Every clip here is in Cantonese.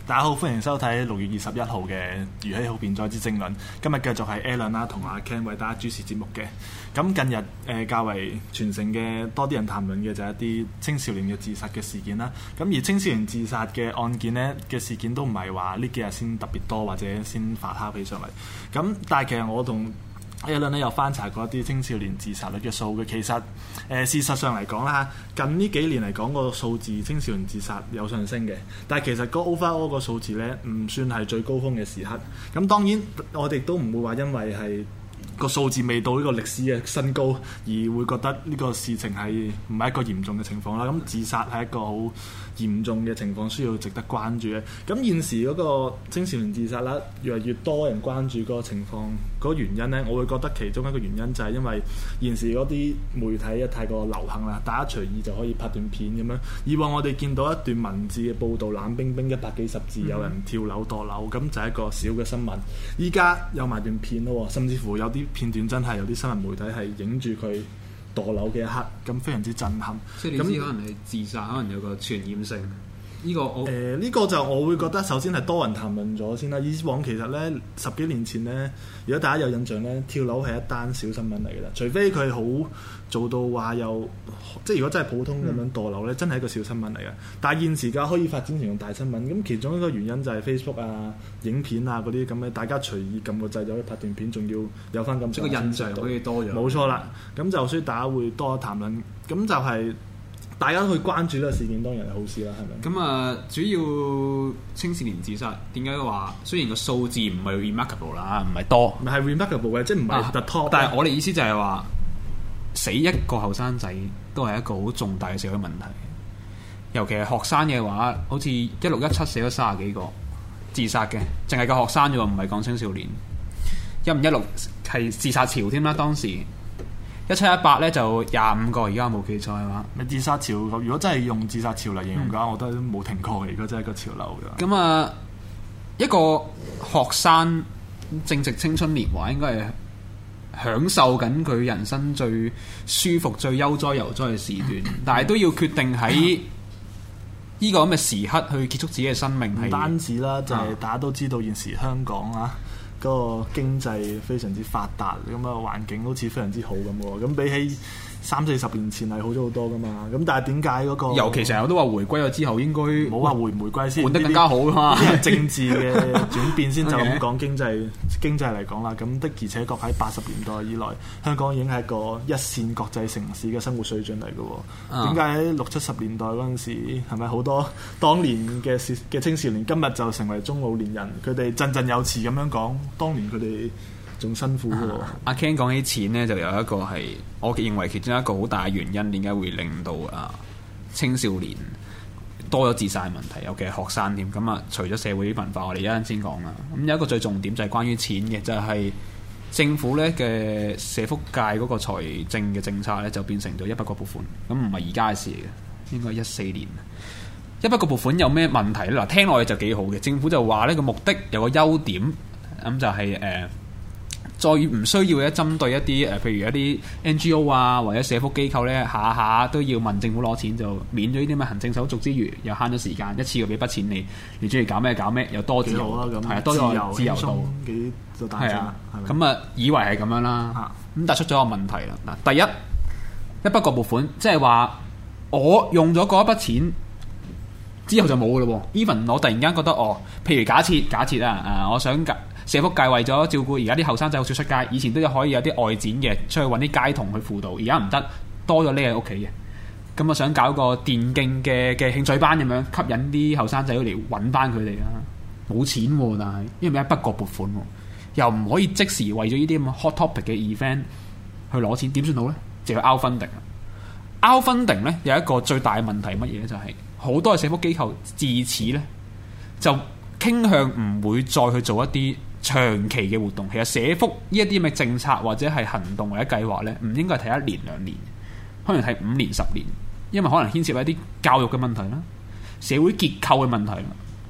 大家好，歡迎收睇6月21號嘅如喜好辯哉之政論。今日繼續係 Alan 啦，同阿 Ken 為大家主持節目嘅。咁近日較為傳承嘅多啲人談論嘅就係一啲青少年嘅自殺嘅事件啦。咁而青少年自殺嘅案件呢嘅事件都唔係話呢幾日先特別多或者先發酵起上嚟。咁但係其實我同Alan 咧有翻查過一啲青少年自殺率嘅數據，其實事實上嚟講啦，近呢幾年嚟講個數字青少年自殺有上升嘅，但係其實個 overall 個數字咧唔算係最高峰嘅時刻。咁當然我哋都唔會話因為係個數字未到呢個歷史嘅新高而會覺得呢個事情係唔係一個嚴重嘅情況啦。咁自殺係一個好嚴重嘅情況，需要值得關注嘅。咁現時嗰個青少年自殺啦，越嚟越多人關注嗰個情況，嗰個原因呢，我會覺得其中一個原因就係因為現時嗰啲媒體太過流行啦，大家隨意就可以拍段片咁樣。以往我哋見到一段文字嘅報導，冷冰冰100幾十字，有人跳樓墮樓，咁就係一個小嘅新聞。依家有埋段片咯，甚至乎有啲片段真係有啲新聞媒體係影住佢墮樓嘅一刻，咁非常之震撼。 即係你知可能係自殺，可能有個傳染性。呢個我呢個就我會覺得首先係多人談論咗先啦。以往其實呢10幾年前呢，如果大家有印象呢，跳樓係一單小新聞嚟嘅啦。除非佢好做到話有，即係如果真係普通咁樣墮樓呢，真係一個小新聞嚟嘅。但係現時嘅可以發展成用大新聞，咁其中一個原因就係 Facebook 啊、影片啊嗰啲咁嘅，大家隨意撳個掣就可以拍段片，仲要有翻咁。 即係個印象可以多咗。 冇錯啦，咁就所以大家會多談論，咁就係。大家都去關注呢個事件當然係好事啦，係咪？ 咁主要青少年自殺點解話雖然個數字唔係 remarkable 啦，唔係多， 唔係 remarkable 嘅，即係唔係 the top。 但係我哋意思就係話，死一個後生仔都係一個好重大嘅社會問題。尤其係學生嘅話，好似1617死咗30幾個自殺嘅，淨係個學生啫喎，唔係講青少年。1516係自殺潮添啦，當時。1718咧就25個，而家冇記錯係嘛？ 咪自殺潮，如果真係用自殺潮嚟形容嘅話，我覺得都冇停過嘅。如果真係一個潮流嘅。 咁一個學生正值青春年華，應該係享受緊佢人生最舒服、最悠哉游哉嘅時段，但係都要決定喺呢個咁嘅時刻去結束自己嘅生命。 唔單止啦，就係大家都知道現時香港啊。嗰個經濟非常之發達，咁環境好似非常之好咁喎。咁比起30-40年前係好咗好多噶嘛。咁但係點解嗰個？尤其成日都話回歸咗之後應該冇話回唔回歸先， 換得更加好噶嘛。 呢啲政治嘅轉變先就咁講經濟嚟講啦。咁的而且確喺80年代以來，香港已經係一個一線國際城市嘅生活水準嚟嘅喎。點解喺60-70年代嗰陣時係咪好多當年嘅青少年今日就成為中老年人？佢哋振振有詞咁樣講。當年佢哋仲辛苦喎。 阿 Ken 講起錢呢，就有一個係我認為其中一個好大嘅原因，點解會令到青少年多咗自殺問題，尤其係學生添。咁除咗社會文化，我哋一陣先講啦。咁有一個最重點就係關於錢嘅，就係政府咧嘅社福界嗰個財政嘅政策咧，就變成咗一筆過撥款。咁唔係而家嘅事嚟嘅，應該14年。一筆過撥款有咩問題咧？嗱，聽落去就幾好嘅。政府就話呢個目的有個優點。咁就係再唔需要咧針對一啲譬如一啲 NGO 啊或者社福機構咧，下下都要問政府攞錢，就免咗呢啲咁嘅行政手續之餘，又慳咗時間，一次過俾筆錢你中意搞咩搞咩，又多自由啦，咁係啊，多咗自由度幾就大係啊，咁以為係咁樣啦，咁但係出咗個問題啦。嗱，第一筆過撥款，即係話我用咗嗰一筆錢之後就冇噶咯喎。Even 我突然間覺得譬如假設啊，我想社福界為咗照顧而家啲後生仔好少出街，以前都可以有啲外展嘅，出去揾啲街童去輔導，而家唔得，多咗匿喺屋企嘅。咁我想搞個電競嘅興趣班咁樣，吸引啲後生仔嚟揾翻佢哋啦。冇錢喎，但係因為一筆過撥款喎，又唔可以即時為咗呢啲咁 hot topic 嘅 event 去攞錢，點算好呢？就要 out funding。out funding 呢有一個最大嘅問題乜嘢呢？就係好多嘅社福機構自此呢就傾向唔會再去做一啲長期嘅活動。其實社福呢一啲嘅政策或者係行動或者計劃呢，唔應該係睇1年2年，可能係5年10年，因為可能牽涉一啲教育嘅問題啦、社會結構嘅問題啦，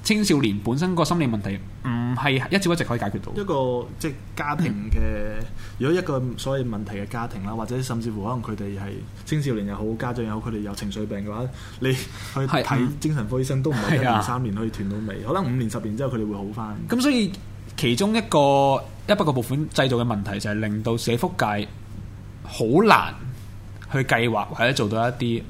青少年本身個心理問題唔係一朝一夕可以解決到。 一個即係家庭嘅，如果一個所謂問題嘅家庭啦，或者甚至乎可能佢哋係青少年又好，家長又好，佢哋有情緒病嘅話，你去睇精神科醫生都唔係1年3年可以斷到尾，可能5年10年之後佢哋會好返。 咁所以其中一筆過撥款製造嘅問題就係令到社福界好難去計劃或者做到一啲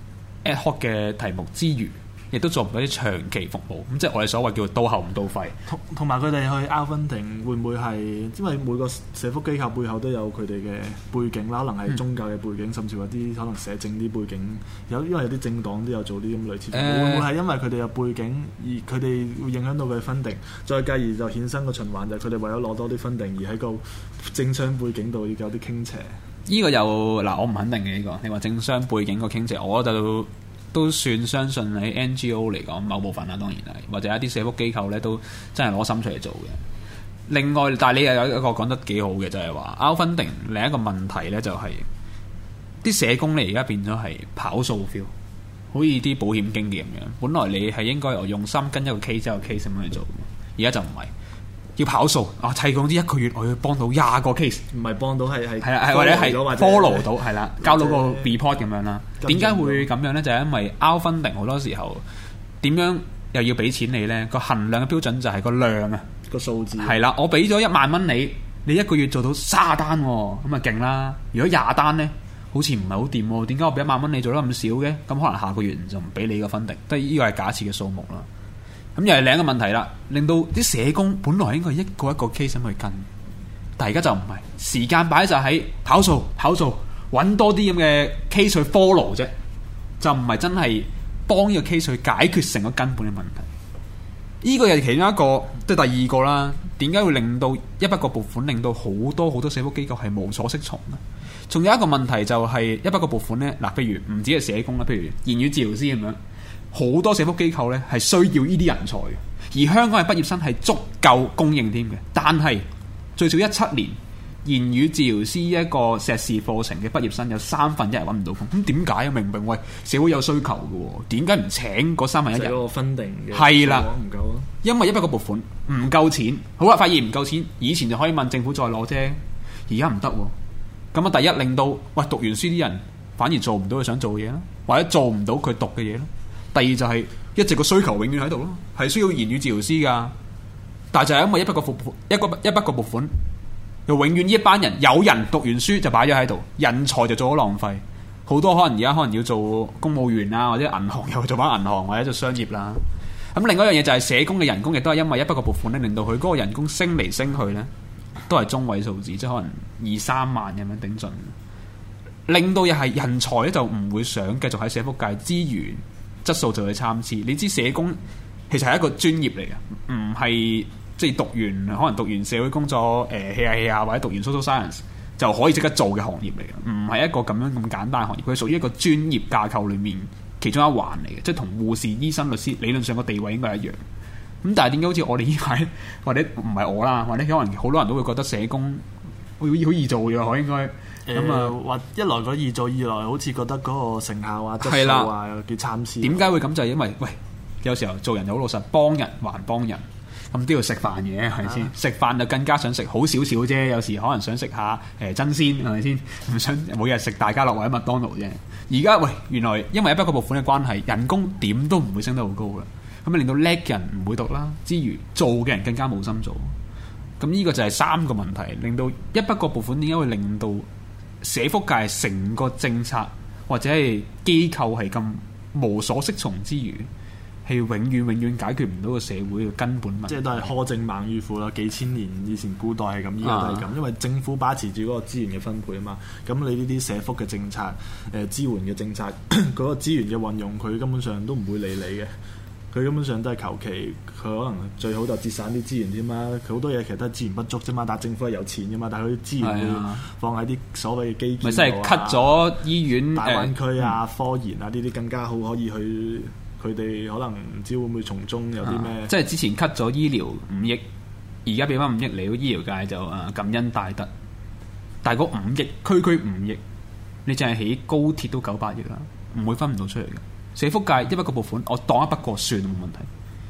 ad hoc 嘅題目之餘，亦都做唔到啲長期服務，咁即係我哋所謂叫做到喉唔到肺。 同埋佢哋去 outfunding 會唔會係因為每個社福機構背後都有佢哋嘅背景啦，可能係宗教嘅背景，甚至乎啲可能社政啲背景，因為有啲政黨都有做啲咁類似。會唔會係因為佢哋嘅背景而佢哋會影響到佢嘅 funding， 再繼而就衍生個循環，就係佢哋為咗攞多啲 funding而喺個政商背景度要有啲傾斜。 呢個又我唔肯定嘅呢個。你話政商背景個傾斜，我就都算相信喺 NGO 嚟講某部分啦，當然係，或者一啲社福機構咧都真係攞心出嚟做嘅。另外，但係你又有一個講得幾好嘅，就係話 outfunding 另一個問題咧，就係啲社工咧而家變咗係跑數 feel， 好似啲保險經紀咁樣。本來你係應該用心跟一個 case 一個 case 咁樣去做，而家就唔係。要跑數啊！砌講啲1個月我要幫到20個 case， 唔係幫到係或者係 follow 到係啦，交到個 report 咁樣啦。點解會咁樣呢？就係因為 outfunding 好多時候點樣又要俾錢你呢？個衡量嘅標準就係個量啊， 個數字係啦。我俾咗1萬蚊你1個月做到30單喎，咁咪勁啦。如果20單呢，好似唔係好掂喎。點解我俾1萬蚊你做得咁少嘅？咁可能下個月就唔俾你個 funding，即係呢個係假設嘅數目啦。咁又係另一個問題啦，令到啲社工本來應該一個一個 case 咁去跟，但係而家就唔係，時間擺就喺跑數，揾多啲咁嘅 case 去 follow 啫，就唔係真係幫呢個 case 去解決成個根本嘅問題。呢個又係其中一個，即係第二個啦。點解會令到一筆過撥款令到好多社福機構係無所適從呢？仲有一個問題就係一筆過撥款呢，嗱，譬如唔止係社工啦，譬如言語治療師咁樣。好多社福機構咧係需要呢啲人才嘅，而香港嘅畢業生係足夠供應添嘅。但係最少17年言語治療師一個碩士課程嘅畢業生有1/3揾唔到工，咁點解啊？明明喂社會有需求嘅喎，點解唔請嗰1/3人？ 就係個分定嘅係啦， 唔夠咯。 因為一筆過撥款唔夠錢，好啦，發現唔夠錢，以前就可以問政府再攞啫，而家唔得喎。咁啊，第一令到喂讀完書啲人反而做唔到佢想做嘅嘢啦，或者做唔到佢讀嘅嘢啦。第二就係一直個需求永遠喺度咯，係需要言語治療師㗎，但係就係因為一筆過撥款，又永遠呢一班人有人讀完書就擺咗喺度，人才就做咗浪費。好多可能而家可能要做公務員啊，或者銀行又做翻銀行或者做商業啦。咁另外一樣嘢就係社工嘅人工亦都係因為一筆過撥款咧，令到佢嗰個人工升嚟升去咧，都係中位數字，即係可能2-3萬咁樣頂盡，令到又係人才咧就唔會想繼續喺社福界資源。質素就去參差，你知社工其實係一個專業嚟嘅，唔係即係可能讀完社會工作hea下或者讀完 social science 就可以即刻做嘅行業嚟嘅，唔係一個咁樣咁簡單嘅行業，佢屬於一個專業架構裏面其中一環嚟嘅，即係同護士、醫生、律師理論上個地位應該係一樣。咁但係點解好似我哋呢排或者唔係我啦，或者可能好多人都會覺得社工好易做嘅，我應該。咁或一來個易做，二來好似覺得嗰個成效啊、質素啊幾參差。 點解會咁？就係因為有時候做人好老實，幫人還幫人，咁都要食飯嘅，係咪先？食飯就更加想食好少少啫。有時可能想食下真鮮，係咪先？唔想每日食大家樂或者麥當勞啫。而家原來因為一筆過撥款嘅關係，人工點都唔會升得好高嘅，咁令到叻嘅人唔會讀啦，之餘做嘅人更加冇心做。咁呢個就係3個問題，令到一筆過撥款點解會令到社福界成個政策或者係機構係咁無所適從之餘，係永遠解決唔到個社會嘅根本問題。 即係都係苛政猛於虎啦，幾千年以前古代係咁，依家都係咁。因為政府把持住嗰個資源嘅分配啊嘛，咁你呢啲社福嘅政策、支援嘅政策，嗰個資源嘅運用，佢根本上都唔會理你嘅。佢根本上都係求其，佢可能最好就節省啲資源添嘛。佢好多嘢其實都係資源不足啫嘛，但係政府係有錢噶嘛，但係佢啲資源會放喺啲所謂嘅基建。 咪即係 cut 咗醫院、 大灣區啊、科研啊呢啲更加好，可以去佢哋可能唔知會唔會從中有啲咩？ 即係之前 cut 咗醫療5億，而家俾翻5億嚟到醫療界就感恩大德。但係嗰5億區5億，你淨係起高鐵都900億啦，唔會分唔到出嚟嘅。社福界一筆過撥款，我當一筆過算冇問題。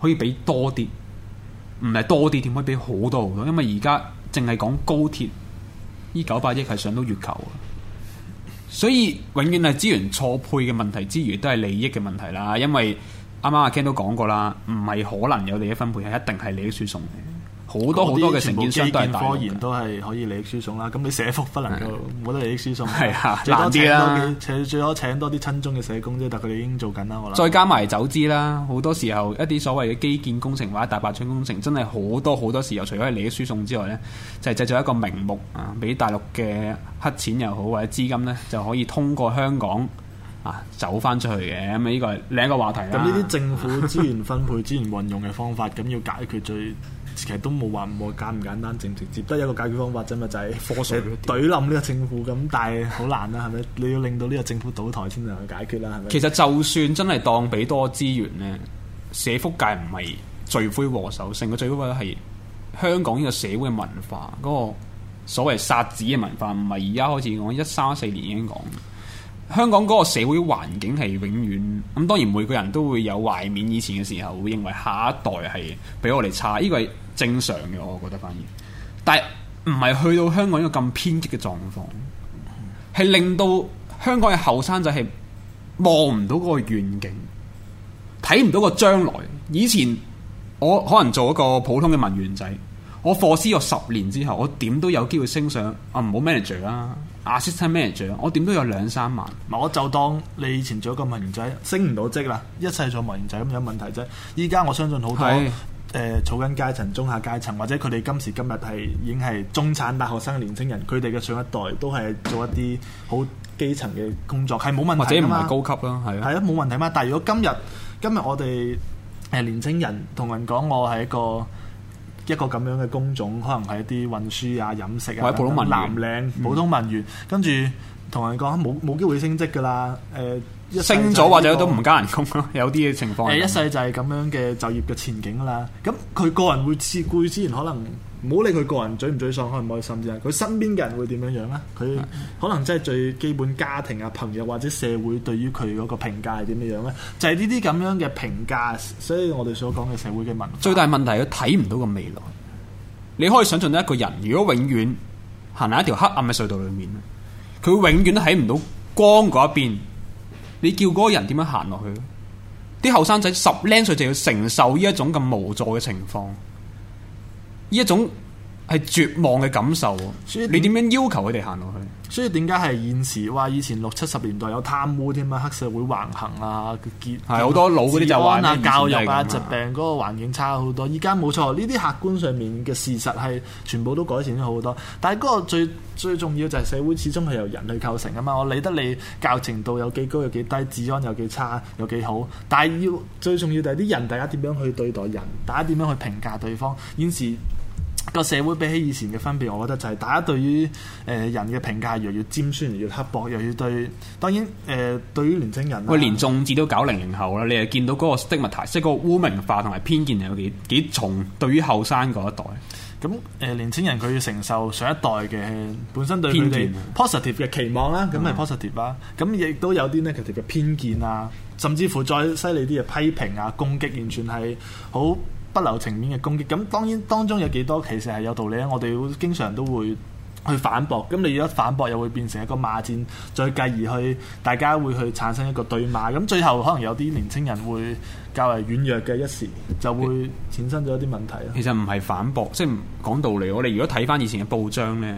可以俾多啲，唔係多啲，點可以俾好多好多？因為而家淨係講高鐵，呢900億係上到月球啊！所以永遠係資源錯配嘅問題之餘，都係利益嘅問題啦。因為啱啱阿 Ken 都講過啦，唔係可能有利益分配，係一定係利益輸送嘅。好多嘅承建商都係大陸嘅， 科研都係可以利益輸送啦。咁你社福不能夠冇得利益輸送， 係啊， 難啲啦。 最多請多啲親中嘅社工啫，但佢哋已經做緊啦。我諗再加埋走資啦，好多時候一啲所謂嘅基建工程或者大白象工程，真係好多時候，除咗係利益輸送之外呢，就係製造一個名目啊，俾大陸嘅黑錢又好或者資金呢，就可以通過香港走翻出去嘅。咁呢個係另一個話題啦。 咁呢啲政府資源分配、資源運用嘅方法，咁要解決其實都冇話簡唔簡單，直唔直接，得一個解決方法啫嘛，就係科稅懟冧呢個政府咁，但係好難啦，係咪？你要令到呢個政府倒台先能去解決啦，係咪？ 其實就算真係當俾多資源呢，社福界唔係罪魁禍首，成個罪魁禍首係香港呢個社會嘅文化，嗰個所謂殺子嘅文化，唔係而家開始講1314年已經講。香港嗰個社會環境係永遠咁，當然每個人都會有懷緬以前嘅時候，會認為下一代係比我哋差，呢個係正常嘅，我覺得反而。但係唔係去到香港一個咁偏激嘅狀況，係令到香港嘅後生仔係望唔到嗰個願景，睇唔到個將來。以前我可能做一個普通嘅文員仔，我課師咗10年之後，我點都有機會升上唔好 manager 啦。assistant manager， 我點都有2-3萬。 我就當你以前做一個文員仔，升唔到職啦，一世做文員仔咁有問題啫。依家我相信好多草根階層、中下階層，或者佢哋今時今日已經係中產大學生嘅年輕人，佢哋嘅上一代都係做一啲好基層嘅工作，係冇問題㗎嘛， 或者唔係高級啦，係啊，冇問題嘛。但係如果今日我哋年輕人同人講我係一個咁樣嘅工種，可能係一啲運輸啊、飲食啊， 或者普通文員、 藍領、普通文員，跟住同人講冇機會升職㗎啦。 升咗或者都唔加人工咯，有啲嘅情況。 一世就係咁樣嘅就業嘅前景啦。咁佢個人會自顧之前可能唔好理佢個人沮唔沮喪、開唔開心啫。佢身邊嘅人會點樣樣咧？佢可能真係最基本家庭啊、朋友或者社會對於佢嗰個評價係點樣樣咧？就係呢啲咁樣嘅評價，所以我哋所講嘅社會嘅文化。 最大問題係佢睇唔到個未來。你可以想象到一個人，如果永遠行喺一條黑暗嘅隧道裏面，佢永遠都睇唔到光嗰一邊。你叫嗰個人點樣行落去？啲後生仔10零歲就要承受呢一種咁無助嘅情況，呢一種係絕望嘅感受。你點樣要求佢哋行落去？ 所以點解係現時話以前60-70年代有貪污添啊，黑社會橫行啊，係好多老嗰啲就話啊、教育啊、疾病嗰個環境差好多。依家冇錯，呢啲客觀上面嘅事實係全部都改善咗好多。但係嗰個最重要就係社會始終係由人去構成啊嘛。我理得你教育程度有幾高有幾低，治安有幾差有幾好，但係最重要就係啲人，大家點樣去對待人，大家點樣去評價對方。現時個社會比起以前嘅分別，我覺得就係大家對於人嘅評價越嚟越尖酸，越刻薄，又要對當然對於年青人， 喂，連眾志都搞00後啦，你係見到嗰個 stigma， 即係嗰個污名化同埋偏見係有幾重，對於後生嗰一代。 咁年青人佢要承受上一代嘅本身對佢哋 positive 嘅期望啦，咁係 positive 啦。咁亦都有啲 negative 嘅偏見啊，甚至乎再犀利啲嘅批評啊、攻擊，完全係好不留情面嘅攻擊。咁當然當中有幾多其實係有道理咧，我哋經常都會去反駁。咁你一反駁又會變成一個罵戰，再繼而去大家會去產生一個對罵。咁最後可能有啲年青人會較為軟弱嘅一時，就會產生咗一啲問題。 其實唔係反駁，即係講道理。我哋如果睇翻以前嘅報章呢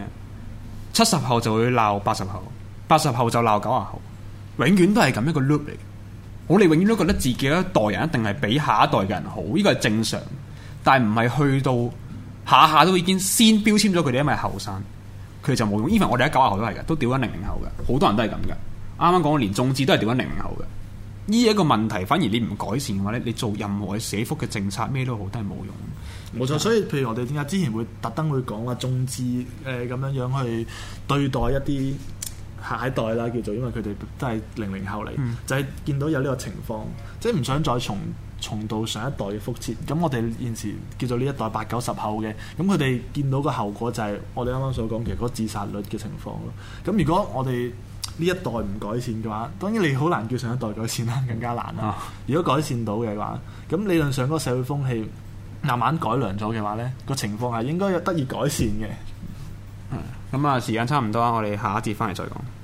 ，70後就會鬧80後，80後就鬧90後，永遠都係咁一個 loop 嚟。我哋永遠都覺得自己一代人一定係比下一代嘅人好，呢個係正常。但係唔係去到下下都已經先標籤咗佢哋，因為後生，佢哋就冇用。even 我哋喺90後都係嘅，都屌緊00後嘅，好多人都係咁嘅。啱啱講連眾志都係屌緊00後嘅。呢一個問題，反而你唔改善嘅話咧，你做任何嘅社福嘅政策咩都好，都係冇用。 冇錯，所以譬如我哋點解之前會特登會講話眾志咁樣樣去對待一啲下一代啦，叫做因為佢哋都係00後嚟，就係見到有呢個情況，即係唔想再重蹈上一代嘅覆轍。咁我哋現時叫做呢一代80-90後嘅，咁佢哋見到個後果就係我哋啱啱所講嘅嗰個自殺率嘅情況咯。咁如果我哋呢一代唔改善嘅話，當然你好難叫上一代改善啦，更加難啦。如果改善到嘅話，咁理論上嗰個社會風氣慢慢改良咗嘅話呢，個情況係應該有得以改善嘅。 咁啊，時間差唔多啦，我哋下一節翻嚟再講。